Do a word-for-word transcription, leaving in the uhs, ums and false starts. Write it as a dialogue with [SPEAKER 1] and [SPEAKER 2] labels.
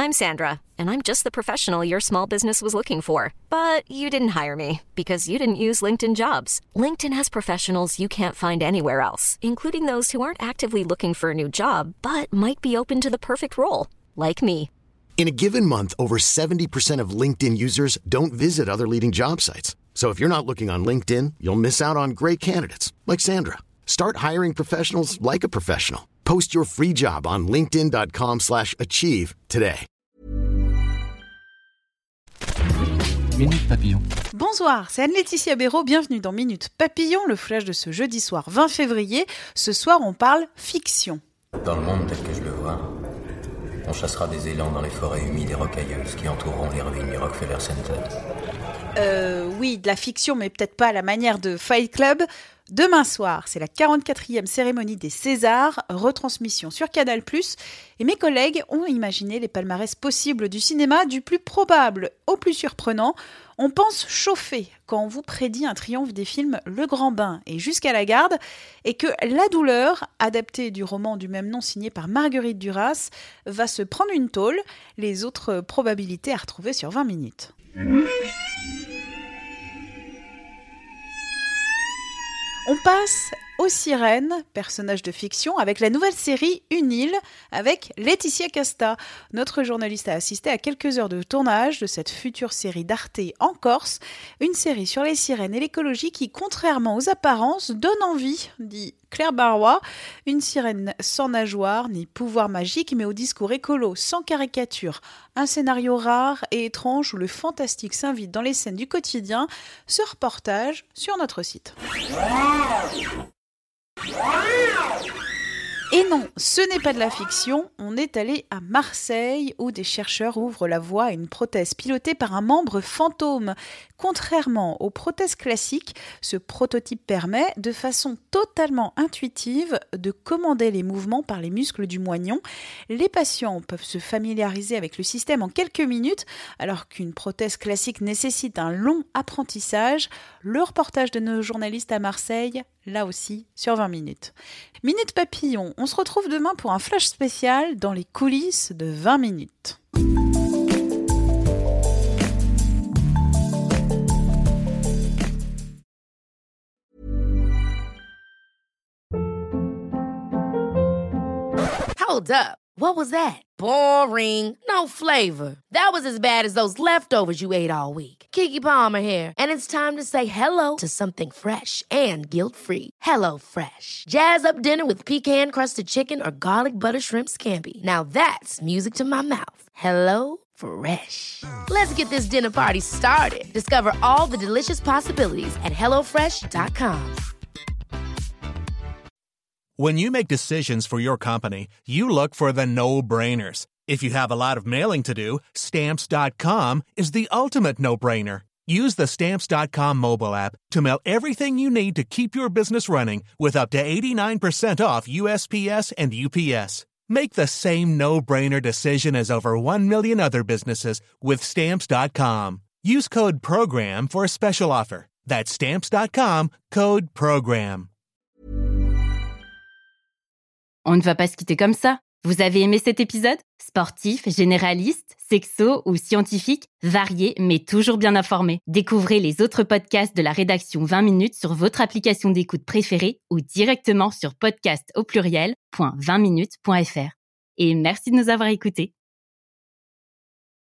[SPEAKER 1] I'm Sandra, and I'm just the professional your small business was looking for. But you didn't hire me because you didn't use LinkedIn Jobs. LinkedIn has professionals you can't find anywhere else, including those who aren't actively looking for a new job, but might be open to the perfect role, like me.
[SPEAKER 2] In a given month, over seventy percent of LinkedIn users don't visit other leading job sites. So if you're not looking on LinkedIn, you'll miss out on great candidates like Sandra. Start hiring professionals like a professional. Post your free job on linkedin.com slash achieve today.
[SPEAKER 3] Minute Papillon.
[SPEAKER 4] Bonsoir, c'est Anne-Laetitia Béraud, bienvenue dans Minute Papillon, le flash de ce jeudi soir vingt février. Ce soir, on parle fiction.
[SPEAKER 5] Dans le monde tel que je le vois, on chassera des élans dans les forêts humides et rocailleuses qui entoureront les ruines du Rockefeller Center.
[SPEAKER 4] Euh, oui, de la fiction, mais peut-être pas à la manière de Fight Club. Demain soir, c'est la quarante-quatrième cérémonie des Césars, retransmission sur Canal plus, et mes collègues ont imaginé les palmarès possibles du cinéma, du plus probable au plus surprenant. On pense chauffer quand on vous prédit un triomphe des films Le Grand Bain et Jusqu'à la garde, et que La douleur, adaptée du roman du même nom signé par Marguerite Duras, va se prendre une tôle. Les autres probabilités à retrouver sur vingt minutes. On passe aux sirènes, personnages de fiction, avec la nouvelle série Une île, avec Laetitia Casta. Notre journaliste a assisté à quelques heures de tournage de cette future série d'Arte en Corse, une série sur les sirènes et l'écologie qui, contrairement aux apparences, donne envie, dit Claire Barrois, une sirène sans nageoire ni pouvoir magique, mais au discours écolo, sans caricature, un scénario rare et étrange où le fantastique s'invite dans les scènes du quotidien. Ce reportage sur notre site. Et non, ce n'est pas de la fiction, on est allé à Marseille où des chercheurs ouvrent la voie à une prothèse pilotée par un membre fantôme. Contrairement aux prothèses classiques, ce prototype permet, de façon totalement intuitive, de commander les mouvements par les muscles du moignon. Les patients peuvent se familiariser avec le système en quelques minutes, alors qu'une prothèse classique nécessite un long apprentissage. Le reportage de nos journalistes à Marseille, là aussi, sur vingt minutes. Minute Papillon, on se retrouve demain pour un flash spécial dans les coulisses de vingt minutes.
[SPEAKER 6] Hold up. What was that? Boring. No flavor. That was as bad as those leftovers you ate all week. Keke Palmer here, and it's time to say hello to something fresh and guilt-free. Hello Fresh. Jazz up dinner with pecan-crusted chicken or garlic butter shrimp scampi. Now that's music to my mouth. Hello Fresh. Let's get this dinner party started. Discover all the delicious possibilities at hello fresh dot com.
[SPEAKER 7] When you make decisions for your company, you look for the no-brainers. If you have a lot of mailing to do, Stamps dot com is the ultimate no-brainer. Use the Stamps dot com mobile app to mail everything you need to keep your business running with up to eighty-nine percent off U S P S and U P S. Make the same no-brainer decision as over one million other businesses with Stamps dot com. Use code PROGRAM for a special offer. That's Stamps dot com, code PROGRAM.
[SPEAKER 8] On ne va pas se quitter comme ça. Vous avez aimé cet épisode ? Sportif, généraliste, sexo ou scientifique, varié mais toujours bien informé. Découvrez les autres podcasts de la rédaction vingt minutes sur votre application d'écoute préférée ou directement sur podcast au pluriel point vingt minutes point f r. Et merci de nous avoir écoutés.